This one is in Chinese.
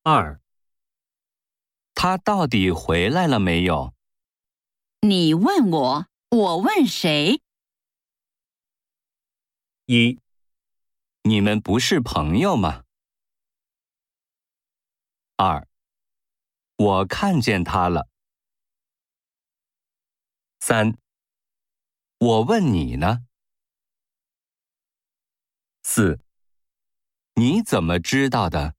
2. 他到底回来了没有？ 你问我，我问谁 1. 你们不是朋友吗？ 2. 我看见他了。3. 我问你呢。4. 你怎么知道的？